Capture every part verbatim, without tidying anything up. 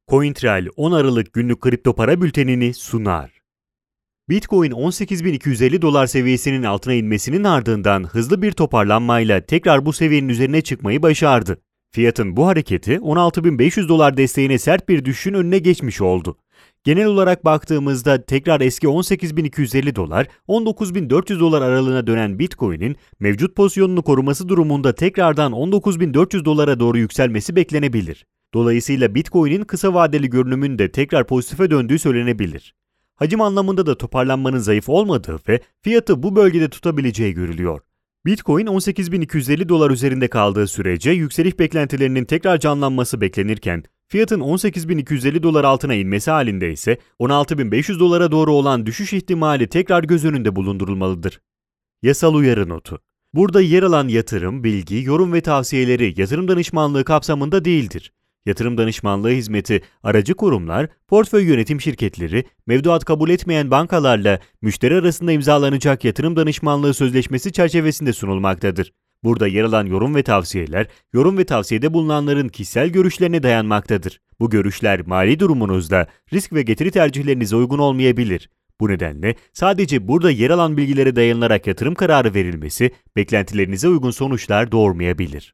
CoinTrail on Aralık günlük kripto para bültenini sunar. Bitcoin on sekiz bin iki yüz elli dolar seviyesinin altına inmesinin ardından hızlı bir toparlanmayla tekrar bu seviyenin üzerine çıkmayı başardı. Fiyatın bu hareketi on altı bin beş yüz dolar desteğine sert bir düşüşün önüne geçmiş oldu. Genel olarak baktığımızda tekrar eski on sekiz bin iki yüz elli dolar, on dokuz bin dört yüz dolar aralığına dönen Bitcoin'in mevcut pozisyonunu koruması durumunda tekrardan on dokuz bin dört yüz dolara doğru yükselmesi beklenebilir. Dolayısıyla Bitcoin'in kısa vadeli görünümün de tekrar pozitife döndüğü söylenebilir. Hacim anlamında da toparlanmanın zayıf olmadığı ve fiyatı bu bölgede tutabileceği görülüyor. Bitcoin on sekiz bin iki yüz elli dolar üzerinde kaldığı sürece yükseliş beklentilerinin tekrar canlanması beklenirken, fiyatın on sekiz bin iki yüz elli dolar altına inmesi halinde ise on altı bin beş yüz dolara doğru olan düşüş ihtimali tekrar göz önünde bulundurulmalıdır. Yasal uyarı notu. Burada yer alan yatırım, bilgi, yorum ve tavsiyeleri yatırım danışmanlığı kapsamında değildir. Yatırım danışmanlığı hizmeti, aracı kurumlar, portföy yönetim şirketleri, mevduat kabul etmeyen bankalarla müşteri arasında imzalanacak yatırım danışmanlığı sözleşmesi çerçevesinde sunulmaktadır. Burada yer alan yorum ve tavsiyeler, yorum ve tavsiyede bulunanların kişisel görüşlerine dayanmaktadır. Bu görüşler mali durumunuzda risk ve getiri tercihlerinize uygun olmayabilir. Bu nedenle sadece burada yer alan bilgilere dayanılarak yatırım kararı verilmesi, beklentilerinize uygun sonuçlar doğurmayabilir.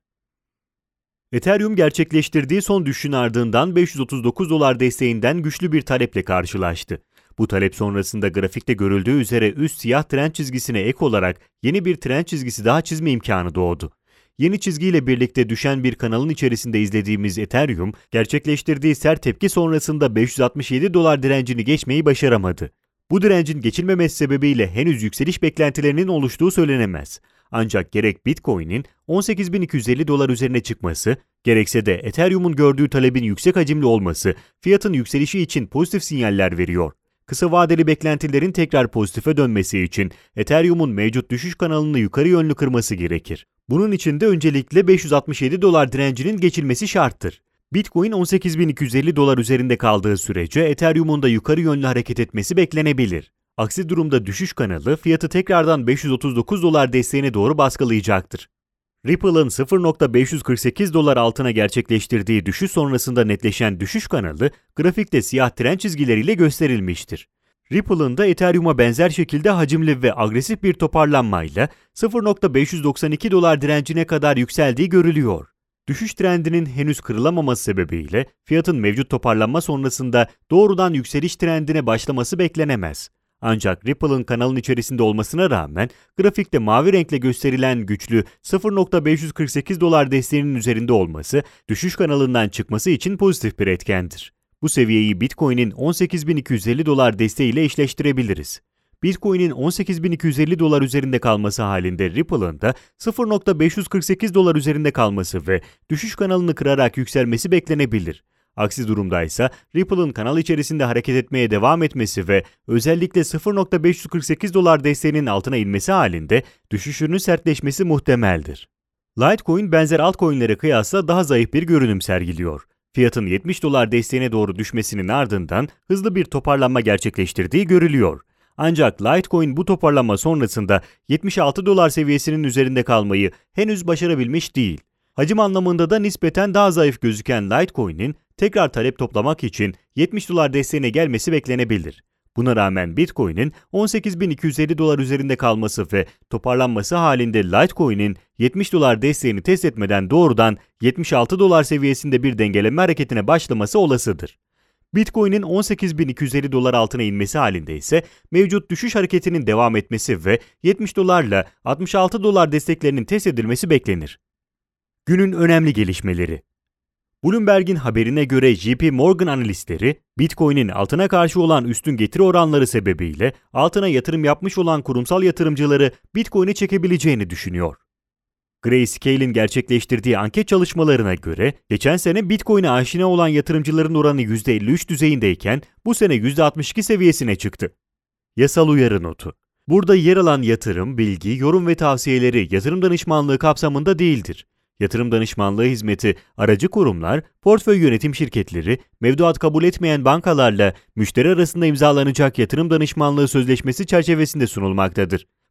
Ethereum gerçekleştirdiği son düşüşün ardından beş yüz otuz dokuz dolar desteğinden güçlü bir taleple karşılaştı. Bu talep sonrasında grafikte görüldüğü üzere üst siyah trend çizgisine ek olarak yeni bir trend çizgisi daha çizme imkanı doğdu. Yeni çizgiyle birlikte düşen bir kanalın içerisinde izlediğimiz Ethereum, gerçekleştirdiği sert tepki sonrasında beş yüz altmış yedi dolar direncini geçmeyi başaramadı. Bu direncin geçilmemesi sebebiyle henüz yükseliş beklentilerinin oluştuğu söylenemez. Ancak gerek Bitcoin'in on sekiz bin iki yüz elli dolar üzerine çıkması, gerekse de Ethereum'un gördüğü talebin yüksek hacimli olması, fiyatın yükselişi için pozitif sinyaller veriyor. Kısa vadeli beklentilerin tekrar pozitife dönmesi için Ethereum'un mevcut düşüş kanalını yukarı yönlü kırması gerekir. Bunun için de öncelikle beş yüz altmış yedi dolar direncinin geçilmesi şarttır. Bitcoin on sekiz bin iki yüz elli dolar üzerinde kaldığı sürece Ethereum'un da yukarı yönlü hareket etmesi beklenebilir. Aksi durumda düşüş kanalı fiyatı tekrardan beş yüz otuz dokuz dolar desteğine doğru baskılayacaktır. Ripple'ın sıfır nokta beş yüz kırk sekiz dolar altına gerçekleştirdiği düşüş sonrasında netleşen düşüş kanalı grafikte siyah trend çizgileriyle gösterilmiştir. Ripple'ın da Ethereum'a benzer şekilde hacimli ve agresif bir toparlanmayla sıfır nokta beş yüz doksan iki dolar direncine kadar yükseldiği görülüyor. Düşüş trendinin henüz kırılamaması sebebiyle fiyatın mevcut toparlanma sonrasında doğrudan yükseliş trendine başlaması beklenemez. Ancak Ripple'ın kanalın içerisinde olmasına rağmen grafikte mavi renkle gösterilen güçlü sıfır nokta beş yüz kırk sekiz dolar desteğinin üzerinde olması, düşüş kanalından çıkması için pozitif bir etkendir. Bu seviyeyi Bitcoin'in on sekiz bin iki yüz elli dolar desteğiyle eşleştirebiliriz. Bitcoin'in on sekiz bin iki yüz elli dolar üzerinde kalması halinde Ripple'ın da sıfır nokta beş yüz kırk sekiz dolar üzerinde kalması ve düşüş kanalını kırarak yükselmesi beklenebilir. Aksi durumdaysa Ripple'ın kanal içerisinde hareket etmeye devam etmesi ve özellikle sıfır nokta beş yüz kırk sekiz dolar desteğinin altına inmesi halinde düşüşünün sertleşmesi muhtemeldir. Litecoin benzer altcoin'lere kıyasla daha zayıf bir görünüm sergiliyor. Fiyatın yetmiş dolar desteğine doğru düşmesinin ardından hızlı bir toparlanma gerçekleştirdiği görülüyor. Ancak Litecoin bu toparlanma sonrasında yetmiş altı dolar seviyesinin üzerinde kalmayı henüz başarabilmiş değil. Hacim anlamında da nispeten daha zayıf gözüken Litecoin'in tekrar talep toplamak için yetmiş dolar desteğine gelmesi beklenebilir. Buna rağmen Bitcoin'in on sekiz bin iki yüz elli dolar üzerinde kalması ve toparlanması halinde Litecoin'in yetmiş dolar desteğini test etmeden doğrudan yetmiş altı dolar seviyesinde bir dengeleme hareketine başlaması olasıdır. Bitcoin'in on sekiz bin iki yüz elli dolar altına inmesi halinde ise mevcut düşüş hareketinin devam etmesi ve yetmiş dolarla altmış altı dolar desteklerinin test edilmesi beklenir. Günün önemli gelişmeleri. Bloomberg'in haberine göre J P Morgan analistleri, Bitcoin'in altına karşı olan üstün getiri oranları sebebiyle altına yatırım yapmış olan kurumsal yatırımcıları Bitcoin'e çekebileceğini düşünüyor. Grayscale'in gerçekleştirdiği anket çalışmalarına göre, geçen sene Bitcoin'e aşina olan yatırımcıların oranı yüzde elli üç düzeyindeyken bu sene yüzde altmış iki seviyesine çıktı. Yasal uyarı notu. Burada yer alan yatırım, bilgi, yorum ve tavsiyeleri yatırım danışmanlığı kapsamında değildir. Yatırım danışmanlığı hizmeti, aracı kurumlar, portföy yönetim şirketleri, mevduat kabul etmeyen bankalarla müşteri arasında imzalanacak yatırım danışmanlığı sözleşmesi çerçevesinde sunulmaktadır.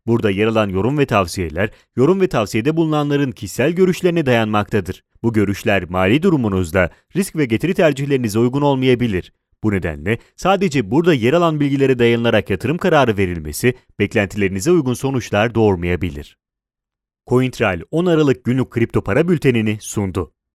Burada yer alan yorum ve tavsiyeler, yorum ve tavsiyede bulunanların kişisel görüşlerine dayanmaktadır. Bu görüşler mali durumunuzda risk ve getiri tercihlerinize uygun olmayabilir. Bu nedenle sadece burada yer alan bilgilere dayanılarak yatırım kararı verilmesi, beklentilerinize uygun sonuçlar doğurmayabilir. CoinTrail on Aralık günlük kripto para bültenini sundu.